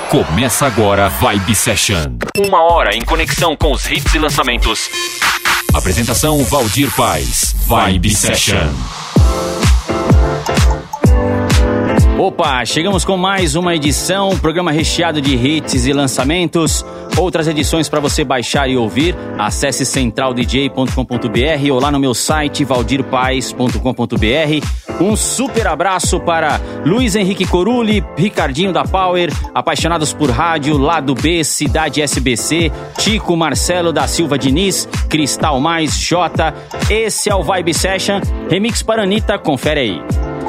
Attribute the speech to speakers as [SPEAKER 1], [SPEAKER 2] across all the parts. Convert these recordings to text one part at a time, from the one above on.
[SPEAKER 1] Começa agora Vibe Session. 1 hora em conexão com os hits e lançamentos. Apresentação Valdir Paz. Vibe Session.
[SPEAKER 2] Opa, chegamos com mais uma edição, programa recheado de hits e lançamentos. Outras edições para você baixar e ouvir. Acesse centraldj.com.br ou lá no meu site valdirpaes.com.br. Um super abraço para Luiz Henrique Corulli, Ricardinho da Power, Apaixonados por Rádio, Lado B, Cidade SBC, Chico Marcelo da Silva Diniz, Cristal Mais, Jota. Esse é o Vibe Session, remix para Anitta, confere aí.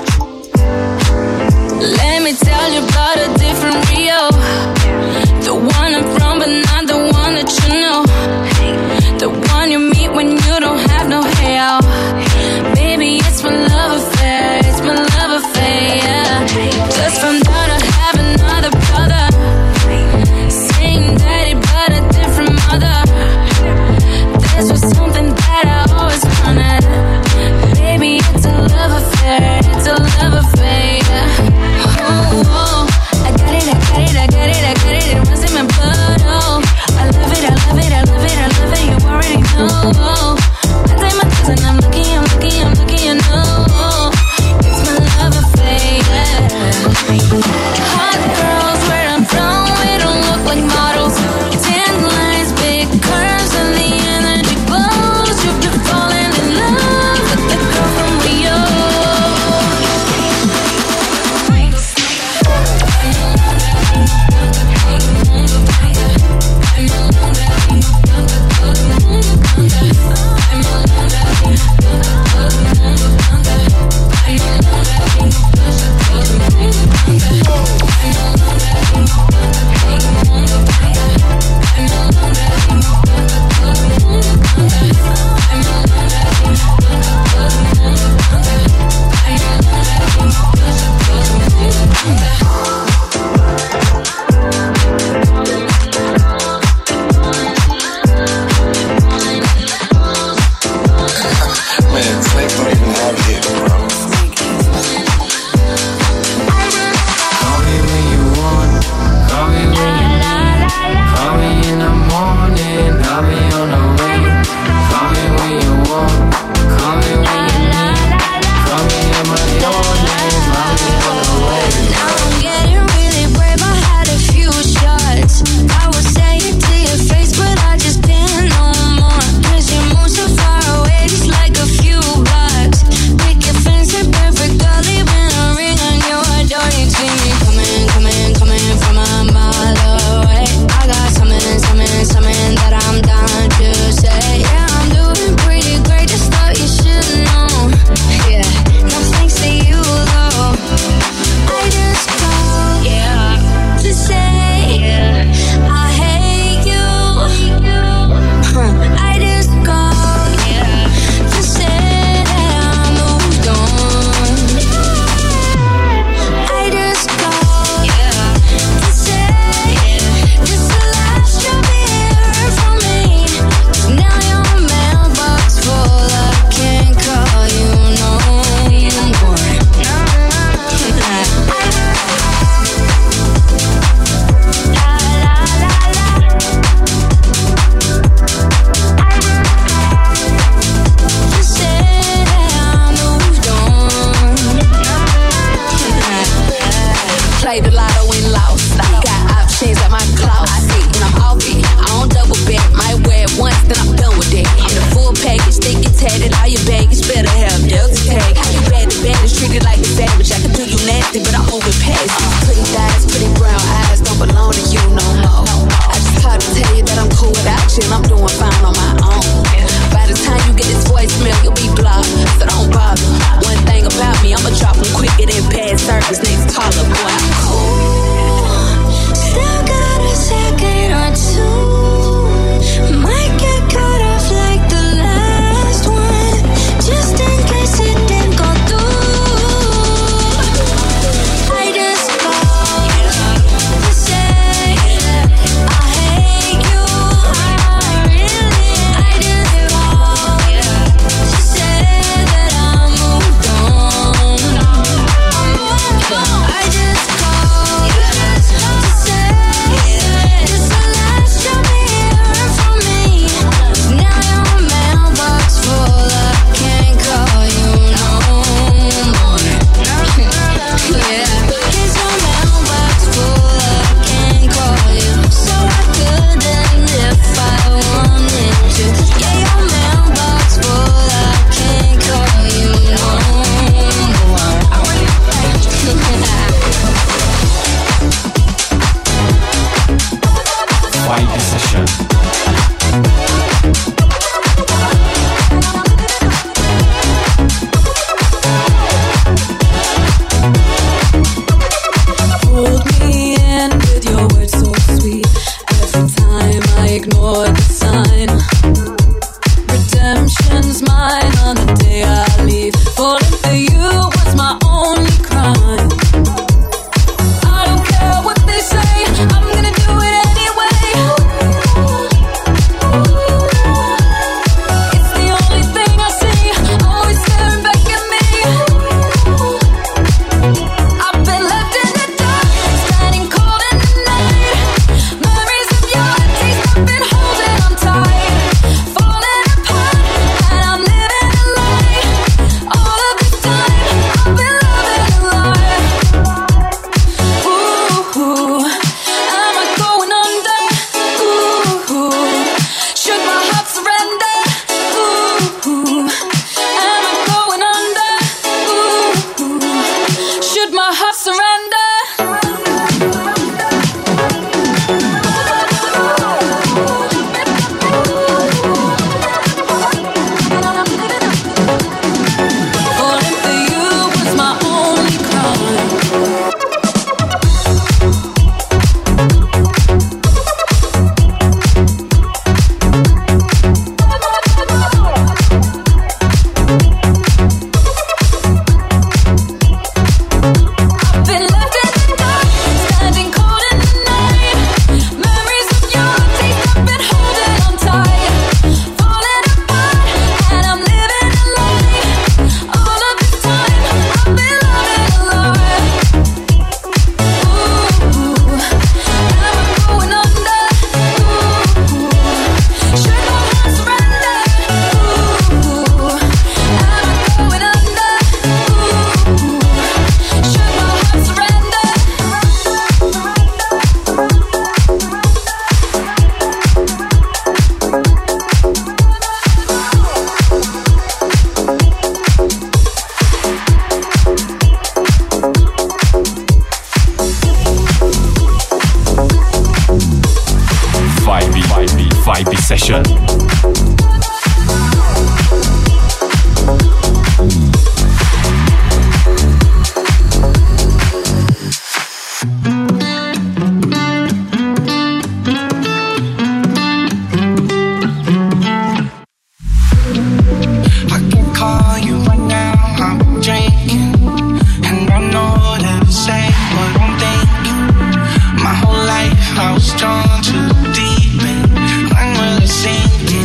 [SPEAKER 3] Let me tell you about a different Rio. The one I'm from, but not the one that you know. The one you meet when you don't have no hair. Baby, it's my love affair, it's my love affair, yeah. Just found out I have another brother. Same daddy, but a different mother. This was something that I always wanted. Baby, it's a love affair, it's a love affair, yeah. Oh, I got it, I got it, I got it, I got it, it runs in my blood, oh. I love it, I love it, I love it, I love it, you already know, oh. I take my things and I'm lucky, I'm lucky, I'm lucky, you know, oh. It's my love affair, yeah. Hot girls where I'm from, we don't look like models. Tan lines, big curves, and the energy glows. You've been falling in love with the girl from Rio.
[SPEAKER 1] Session.
[SPEAKER 3] Hold me in with your words so sweet. Every time I ignore the sign, redemption's mine on the day I leave. Falling for you was my only crime. I don't care what they say, I'm gonna do it anyway. It's the only thing I see, always staring back at me. I've been left in the dark, standing cold in the night. Memories of your taste, I've been holding on tight. Falling apart, and I'm living a lie. All of this time, I've been loving a lie. Ooh, am I going under? Ooh, should my heart surrender? Ooh, am I going under? Ooh, should my heart surrender? Falling for you was my only crime. I've been left in the dark, standing cold in the night. Memories of your taste, I've been holding on tight. Falling apart, and I'm living a lie. All of this time, I've been loving a lie. Ooh, am I going under? Ooh, should my heart surrender? Ooh, am I going under? Ooh, should my heart surrender?
[SPEAKER 1] Vibe Session.
[SPEAKER 4] I can call you right now, I'm drinking, and I know that to say what I'm thinking. My whole life I was drawn to the deep end, when will it sink in?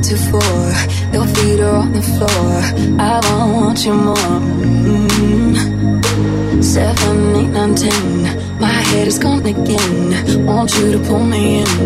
[SPEAKER 3] to 4. Your feet are on the floor. I want you more. 7, 8, 9, 10. My head is gone again. Want you to pull me in.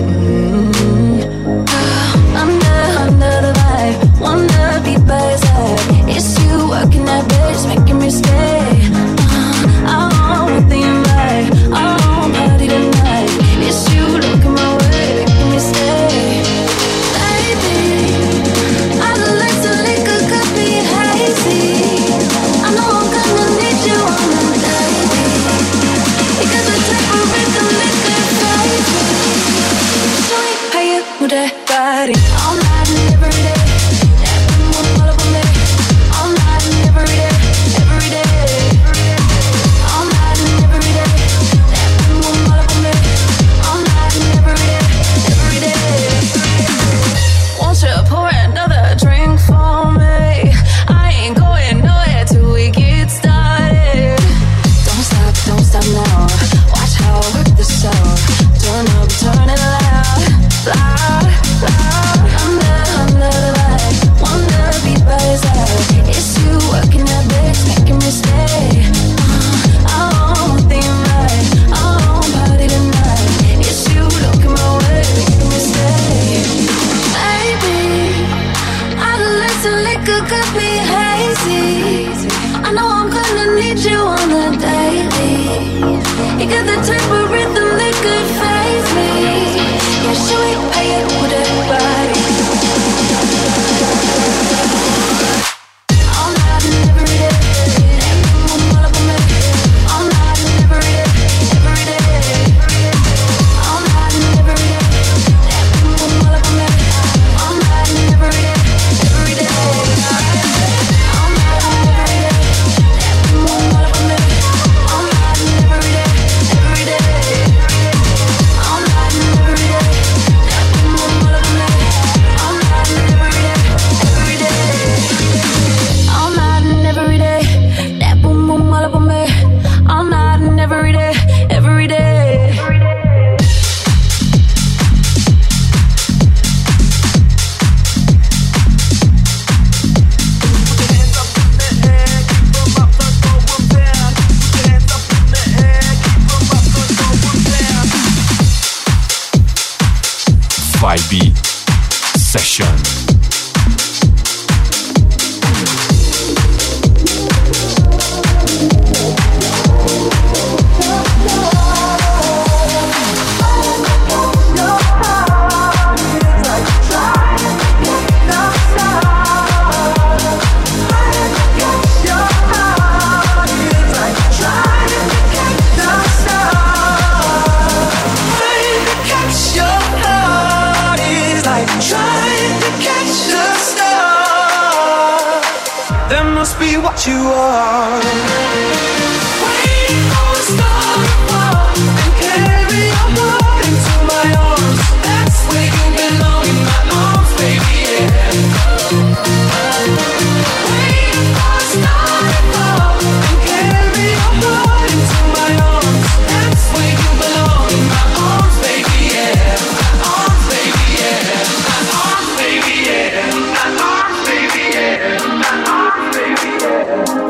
[SPEAKER 3] Under the vibe. Wanna be by your side. It's you working that bitch, making me stay. I want the invite. I want party tonight. It's you looking my way, making me stay. Baby, I'd like to lick a cup, be hazy. I know I'm gonna need you on the daily. Because the type of rhythm that could fade me. Show me how you move that body all night and every day. All up on me, all night and every day, every day. All night and every day. All up on me, all night and every day, every day. Won't you pour another drink for me? I ain't going nowhere till we get started. Don't stop now. Watch how I work this out. Turn up, turn it loud, loud, loud. Under the light, wanna be by your side. It's you working that bitch, making me stay. I want the invite, I want party tonight. It's you looking my way, making me stay. Baby, I'd like to lick a cup, be hazy. I know I'm gonna need you on the daily. You got the type of rhythm that could phase me. Yeah, show me how you move that body. All night and every day. All up on me. All night and every day, every day. All night and every day. All up on me. All night and every day, every day. All night and every day. All up on me. All night and every day, every day. All night and every day. All up on me. All night and every day, every day. All night and every day. That boom boom all up on me. All night and every day, every day.
[SPEAKER 1] Vibe Session.
[SPEAKER 4] What you are. Wait for a star to fall and carry your heart into my arms. That's where you belong, in my arms, baby, yeah. Wait for a star to fall and carry your heart into my arms. That's where you belong, in my arms, baby, yeah. My arms, baby, yeah. My arms, baby, yeah. My arms, baby, yeah. My arms, baby, yeah.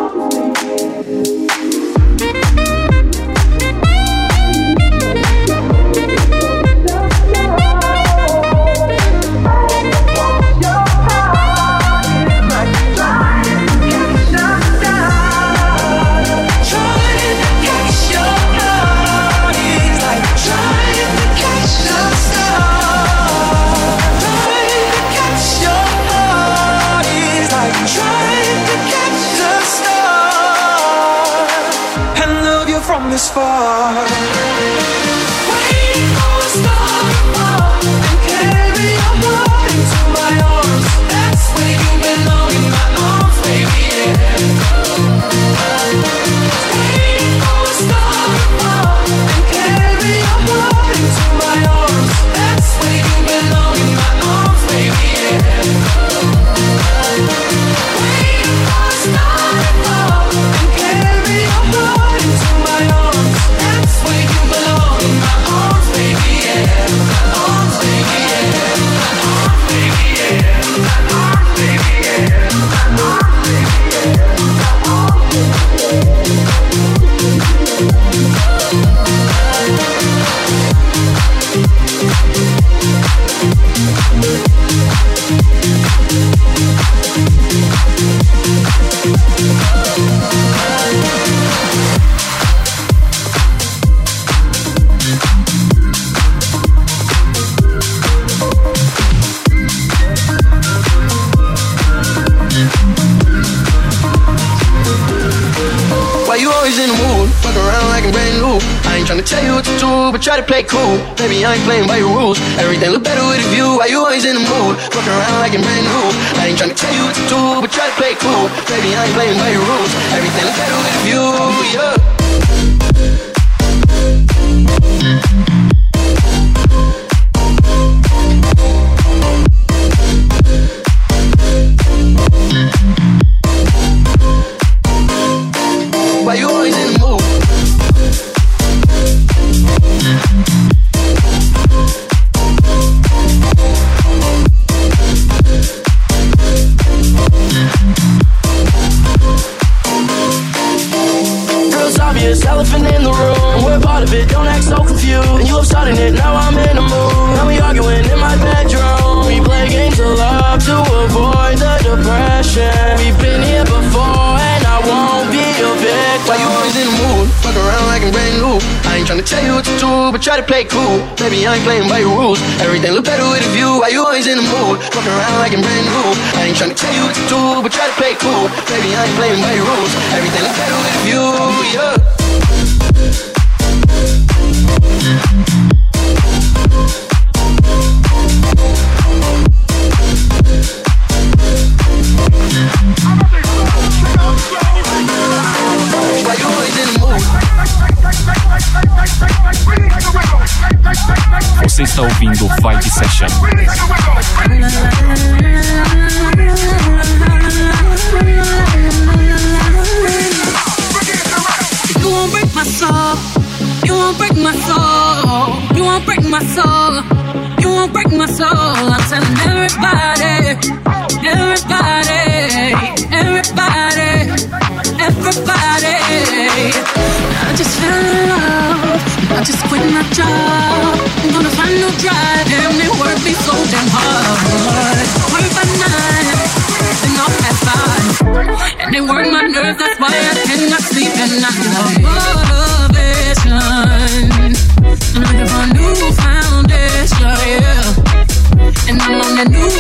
[SPEAKER 4] This far. Wait for a star to fall and carry your heart into my arms. That's where you belong, in my arms, baby, yeah. Wait for a star to fall and carry your heart into my arms. That's where you belong, in my arms, baby, yeah. Wait for a star to fall and carry your heart into my arms. That's where you belong, in my arms, baby, yeah.
[SPEAKER 5] fuck around like I'm brand new. I ain't tryna tell you what to do, but try to play cool. Baby, I ain't playing by your rules. Everything look better with a view. Why you always in the mood? Fuck around like I'm brand new. I ain't tryna tell you what to do, but try to play cool. Baby, I ain't playing by your rules. Everything look better with a view, yeah. Why you always in the mood? Girl, it's obvious, elephant in the room. We're part of it, don't act so confused. And you love starting it, now I'm in the mood. Now we arguing in my bedroom. We play games of love to avoid the depression. We've been here before and I won't be your victim. Why you always in the mood? Fuck around like I'm brand new. I ain't tryna tell you what to do, but try to play cool. Baby, I ain't playing by your rules. Everything look better with a view. Why you always in the mood? Fuck around like I'm brand new. I ain't tryna tell you what to do, but try to play cool. Baby, I ain't playing by your rules. Everything look better with a view, yeah. Why you always in the mood?
[SPEAKER 1] Você está ouvindo Vibe Session.
[SPEAKER 3] You won't break my soul. You won't break my soul. You won't break my soul. You won't break my soul. I'm telling everybody, everybody, everybody, everybody. I just fell in love. I just quit my job. I'm gonna find no drive. Damn, they work me so damn hard. Work by 9, then off at 5. And they work my nerves, that's why I cannot sleep at night. Motivation. I'm looking for a new foundation, yeah. And I'm on a new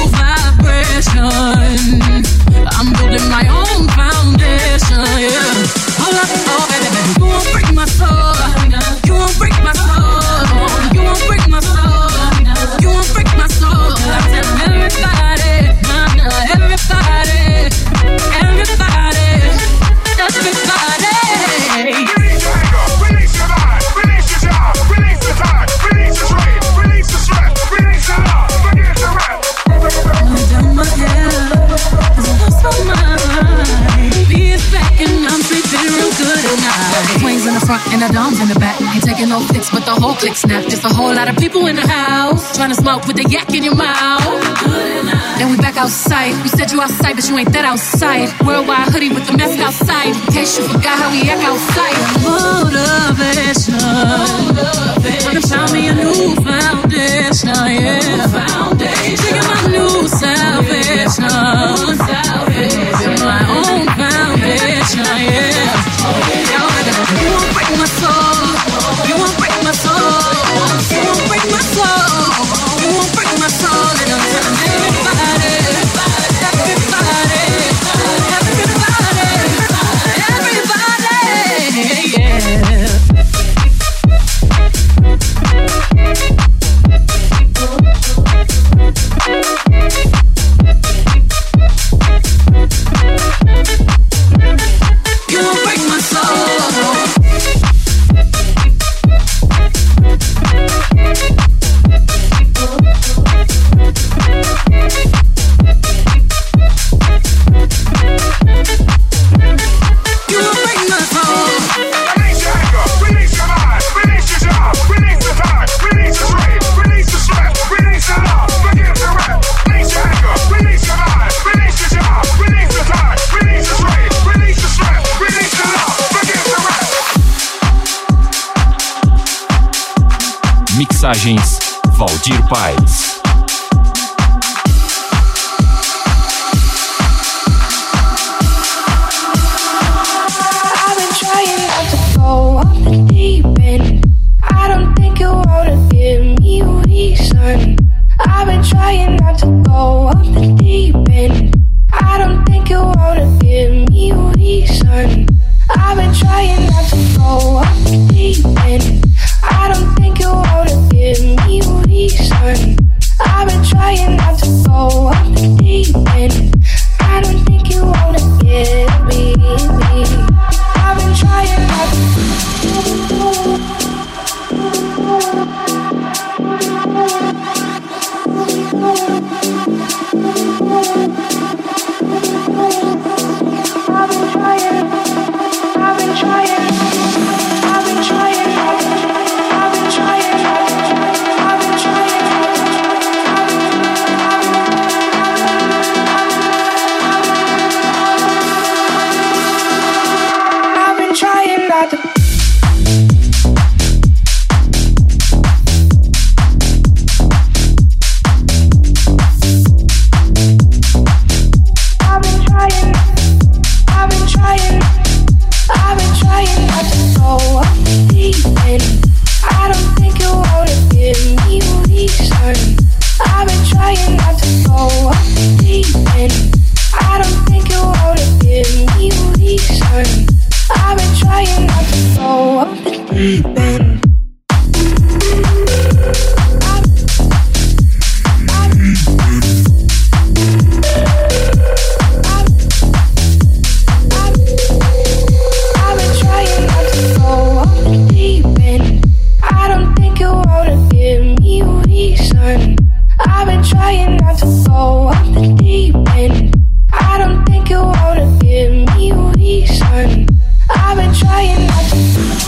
[SPEAKER 3] vibration. I'm building my own foundation, yeah. Hold up, oh baby, baby, you won't break my soul. You won't break my soul. You won't break my soul. You won't break my soul. I'm telling everybody, everybody, everybody, everybody.
[SPEAKER 6] Release your anger, release your mind, release your job, release the time, release the strain, release the stress, release the love, forget the rest.
[SPEAKER 3] I'm down my head, 'cause I lost my mind. Be's back and I'm sleeping real good at night. Wings in the front and the doms in the back. Ain't taking no flicks, but the whole click snap. Just a whole lot of people in the house, trying to smoke with the yak in your mouth. Then we back outside. You said you outside, but you ain't that outside. Worldwide hoodie with the mask outside. In case you forgot how we act outside. Motivation. Trying to find me a new foundation, yeah. Taking my new salvation. Building my own foundation, yeah. You won't break my soul. You won't break my soul. You won't break my soul. You won't break my soul. And I'm telling everybody, everybody, everybody, yeah. You won't break my soul.
[SPEAKER 1] Mixagens Valdir Paz.
[SPEAKER 7] I've been trying not to go off the deep end. I don't think you wanna give me a reason. I've been trying not to go off the deep end. I don't think you wanna give me a reason. I've been trying not to go deep end. I've been trying not to go off the deep end. I don't think you wanna give me a reason. I've been trying not to go off the deep end. I don't think you wanna give me a reason. I've been trying not to.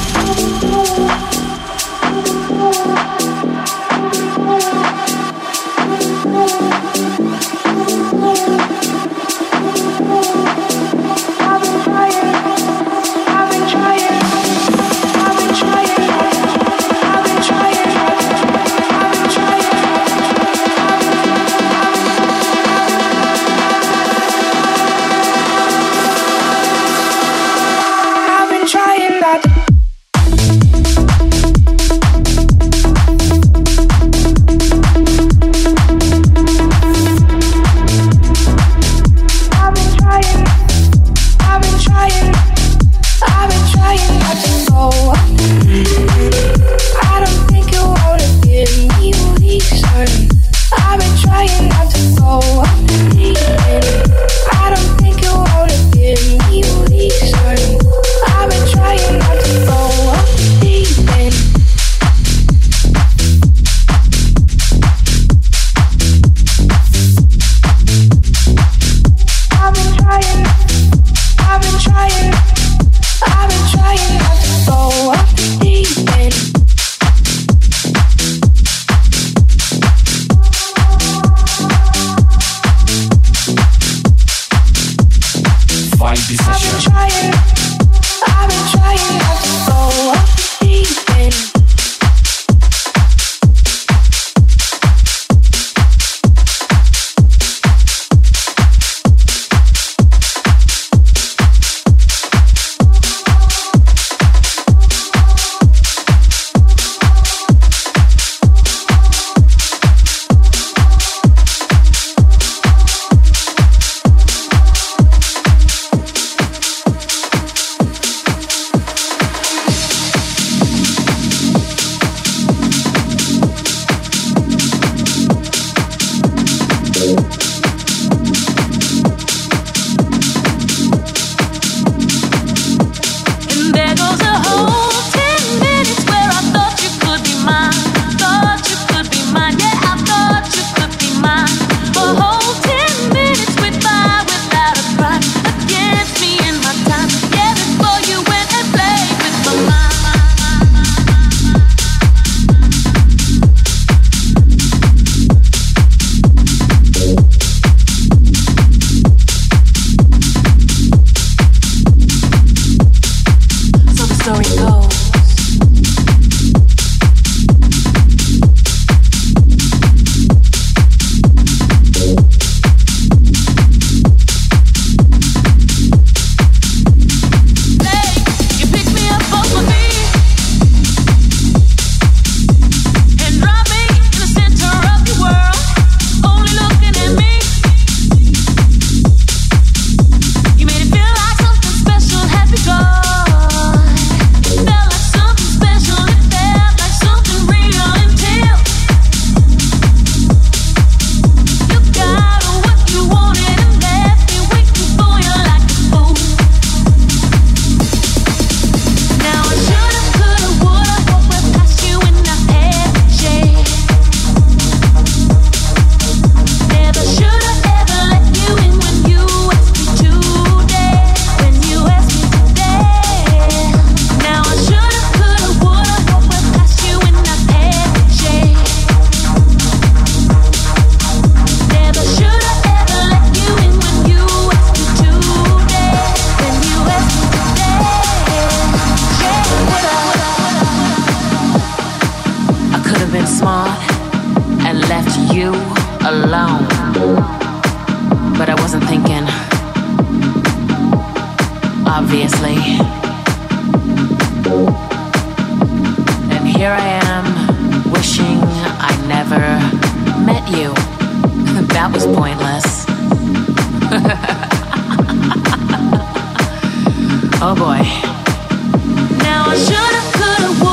[SPEAKER 8] obviously. And here I am, wishing I never met you. That was pointless. Oh boy. Now I should've, could've,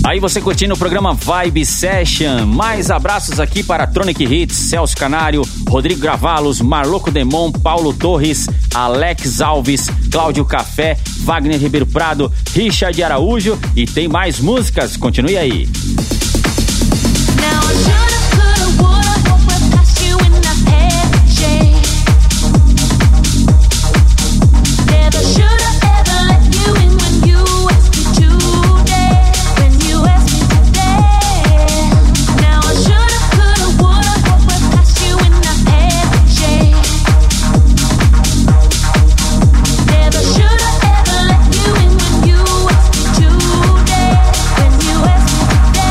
[SPEAKER 2] Aí você curtindo o programa Vibe Session. Mais abraços aqui para Tronic Hits, Celso Canário, Rodrigo Gravalos, Marloco Demon, Paulo Torres, Alex Alves, Cláudio Café, Wagner Ribeiro Prado, Richard Araújo e tem mais músicas. Continue aí.
[SPEAKER 3] Today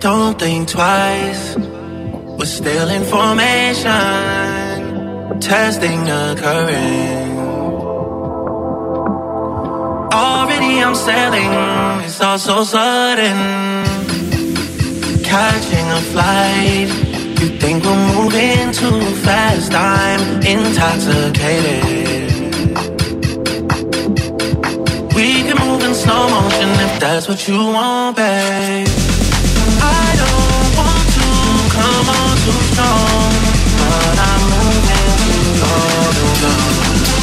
[SPEAKER 5] Don't think twice. We're still in formation. Testing occurring. Already I'm sailing. It's all so sudden. Catching a flight. You think we're moving too fast. I'm intoxicated. We can move in slow motion if that's what you want, babe. I don't want to come on too strong, but I'm moving too long.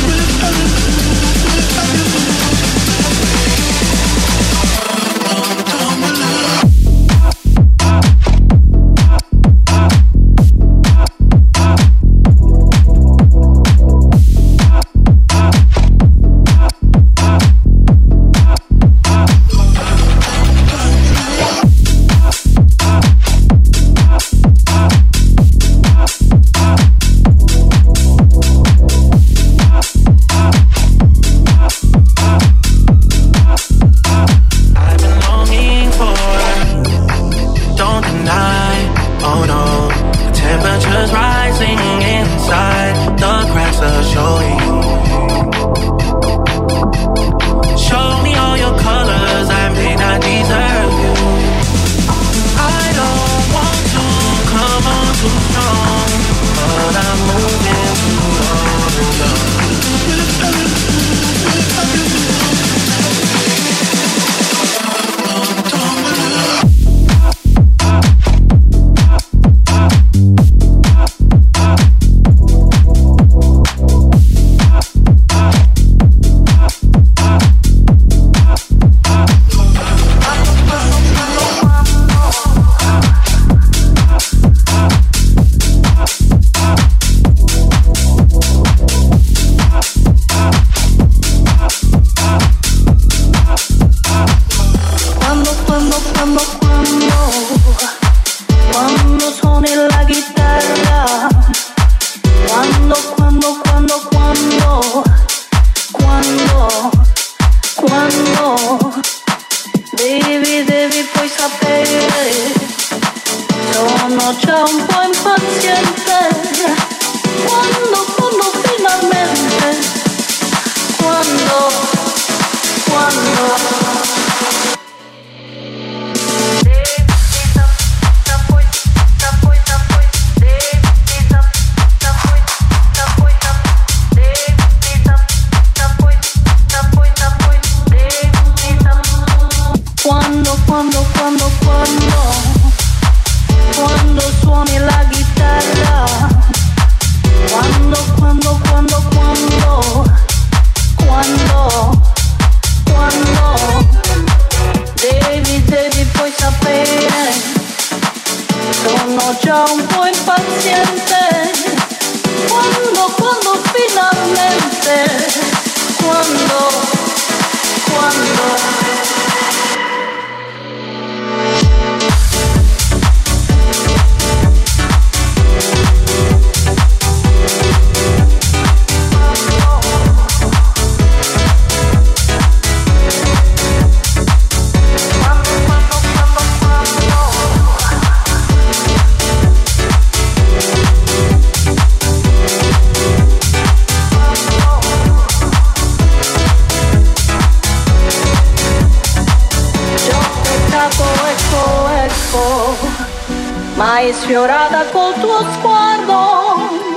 [SPEAKER 9] Mai sfiorata col tuo sguardo,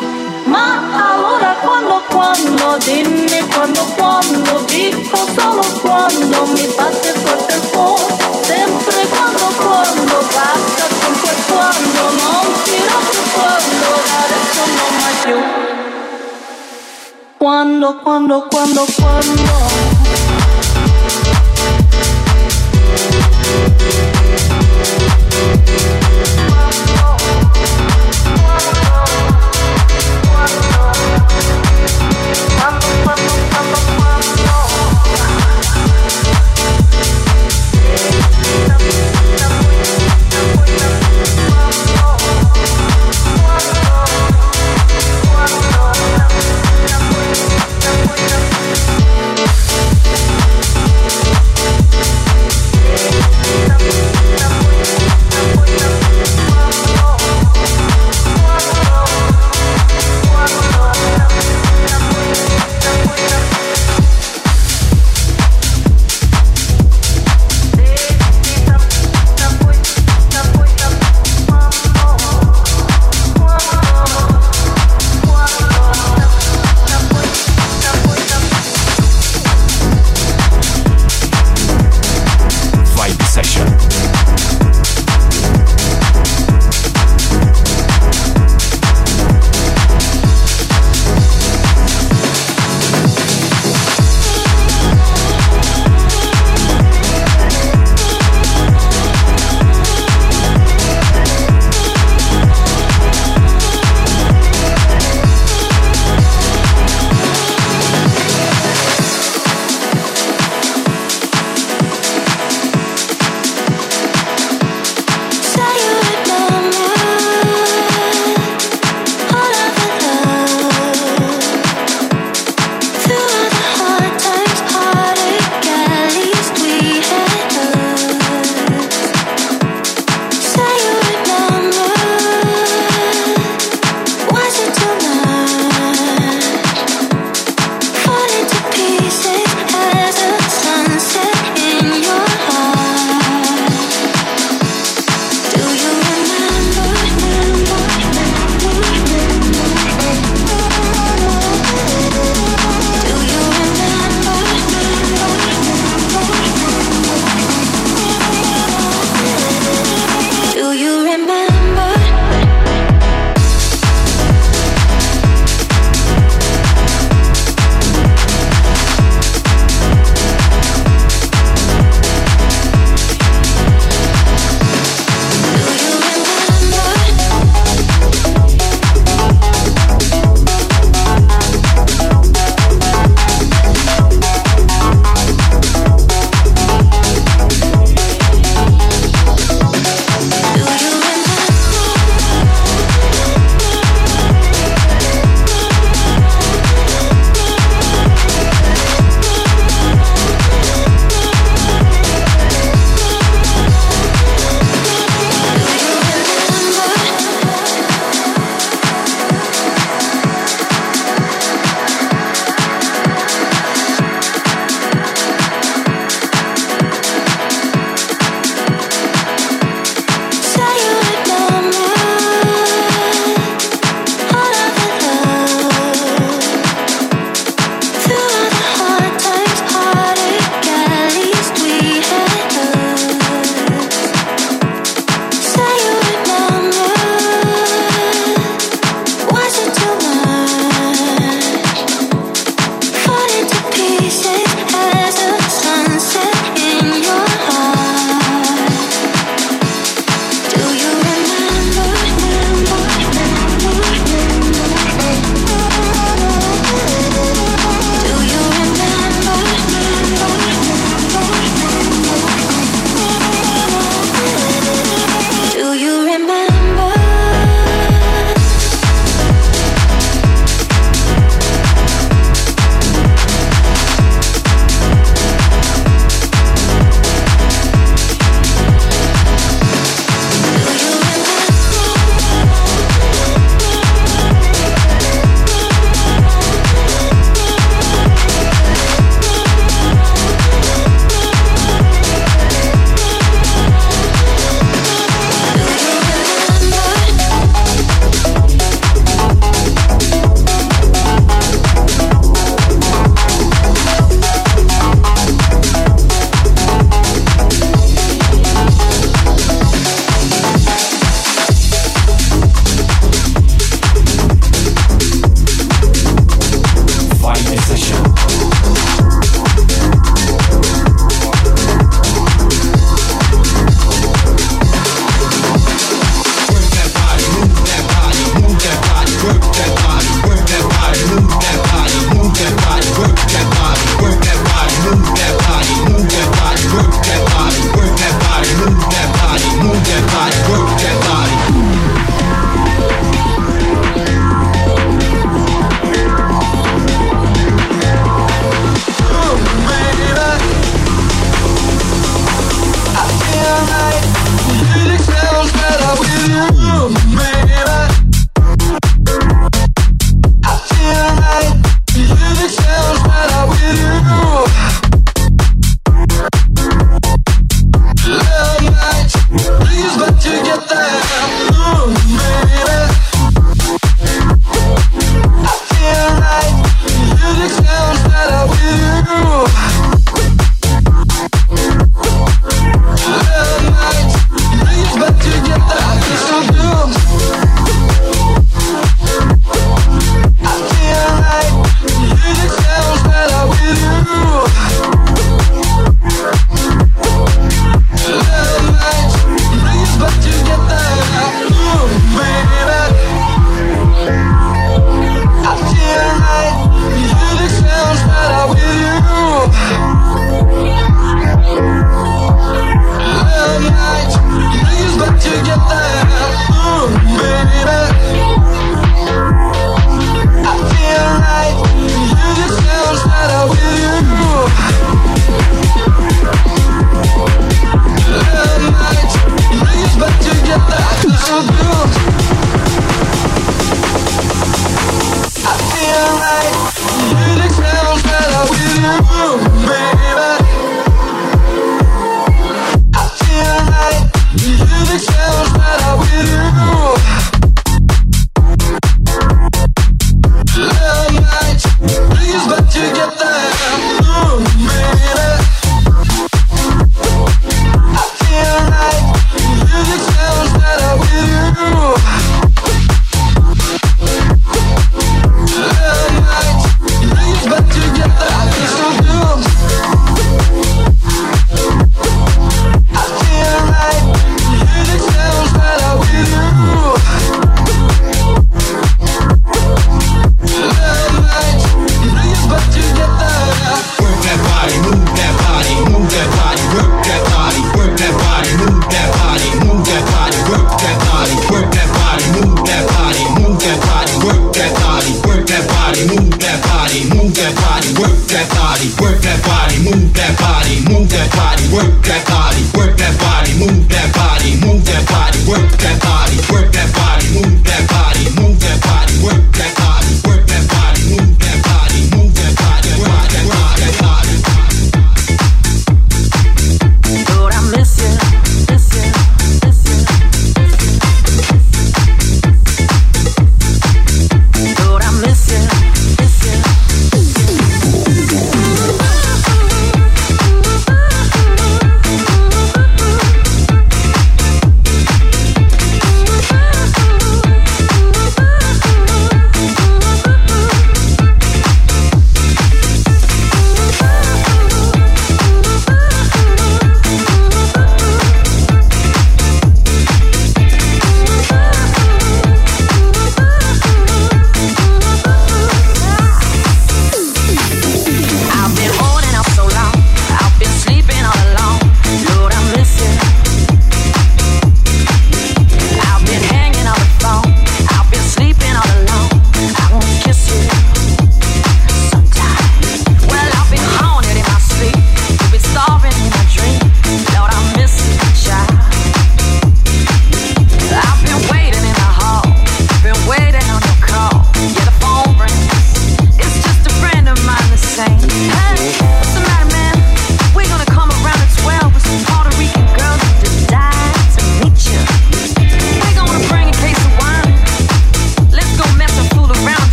[SPEAKER 9] ma allora quando, dimmi quando, dico solo quando, mi batte forte il cuore, sempre quando, basta con quel quando, non dirò più quando, adesso non mai più, quando.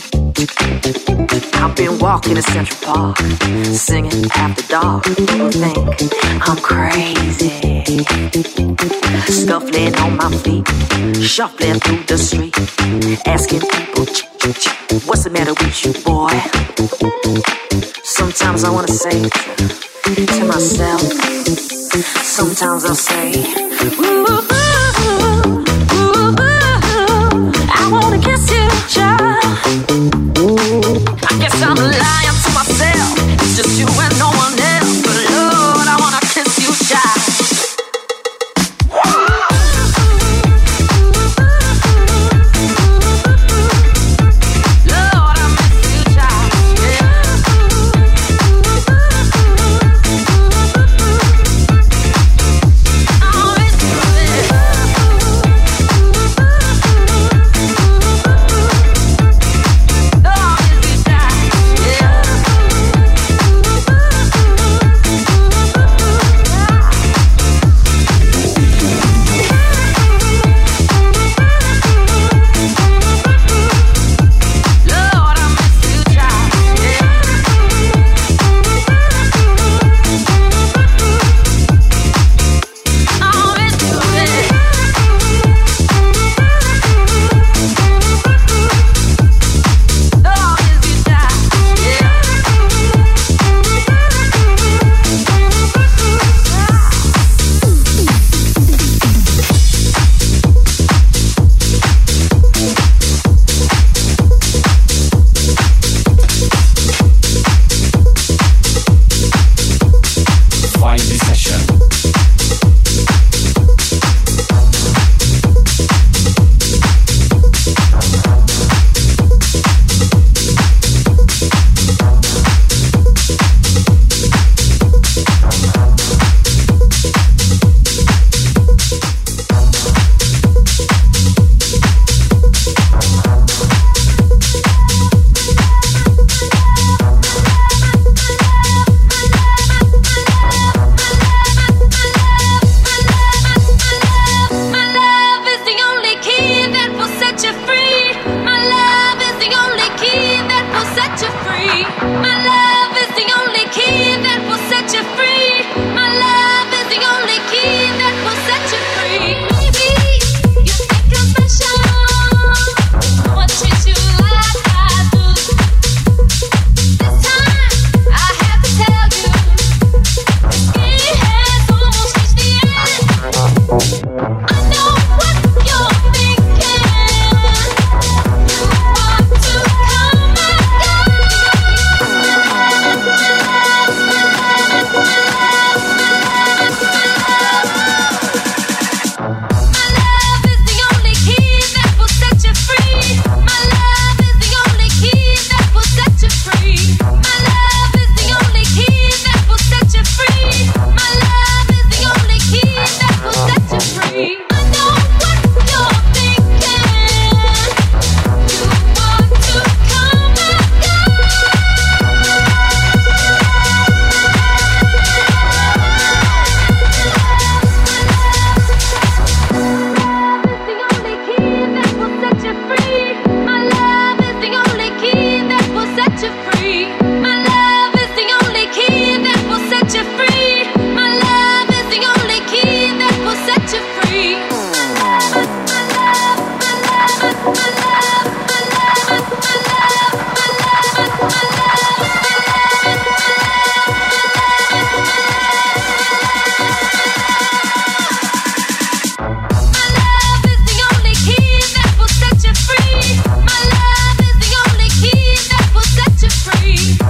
[SPEAKER 10] I've been walking in Central Park, singing after dark. People think I'm crazy, scuffling on my feet, shuffling through the street, asking people, what's the matter with you, boy? Sometimes I wanna say to myself, sometimes I'll say, ooh, ooh, ooh, ooh, I wanna kiss you, child. I guess I'm lying to myself. It's just you and no one else. But Lord, I wanna kiss you, child.
[SPEAKER 3] Free.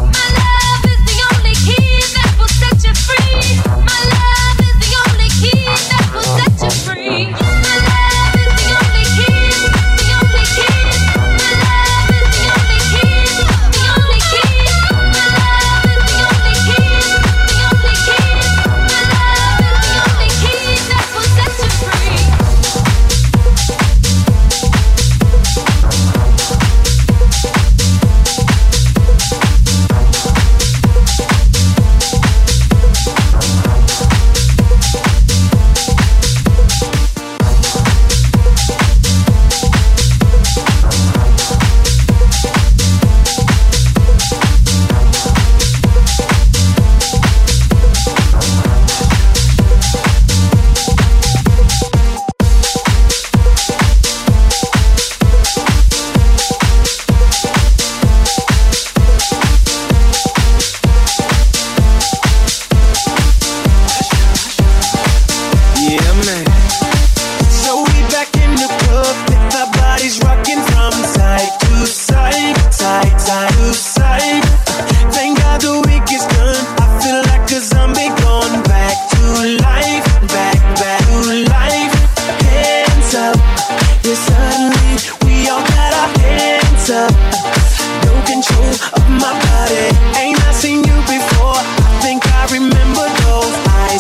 [SPEAKER 5] out of sight. Thank God the week is done. I feel like a zombie going back to life, back to life. Hands up, yeah, suddenly we all got our hands up. No control of my body. Ain't I seen you before? I think I remember those eyes.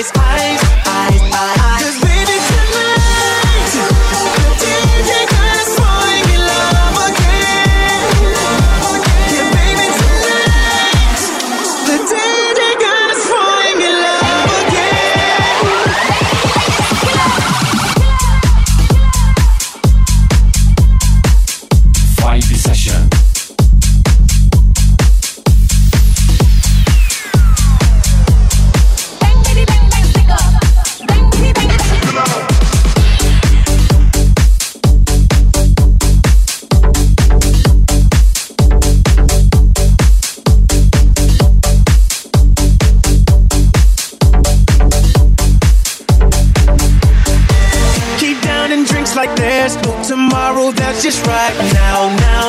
[SPEAKER 5] 'Cause baby tonight, the DJ got us falling in love again. Yeah, baby tonight, the DJ got us falling in love again.
[SPEAKER 1] Vibe Session.
[SPEAKER 5] Keep downing drinks like there's no tomorrow. That's just right now.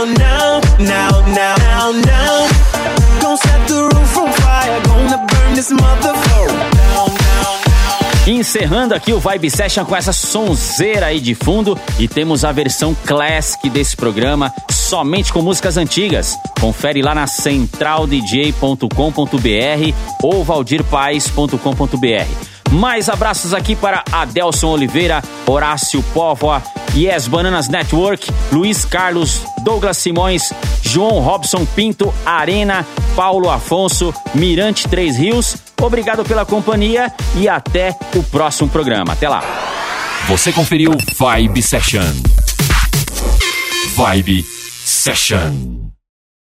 [SPEAKER 5] Gonna set the roof on fire. Gonna burn this motherfucker down.
[SPEAKER 2] Encerrando aqui o Vibe Session com essa sonzeira aí de fundo, e temos a versão classic desse programa, somente com músicas antigas. Confere lá na centraldj.com.br ou valdirpaes.com.br. Mais abraços aqui para Adelson Oliveira, Horácio Póvoa, Yes Bananas Network, Luiz Carlos, Douglas Simões, João Robson Pinto, Arena, Paulo Afonso, Mirante Três Rios. Obrigado pela companhia e até o próximo programa. Até lá.
[SPEAKER 1] Você conferiu Vibe Session. Vibe Session.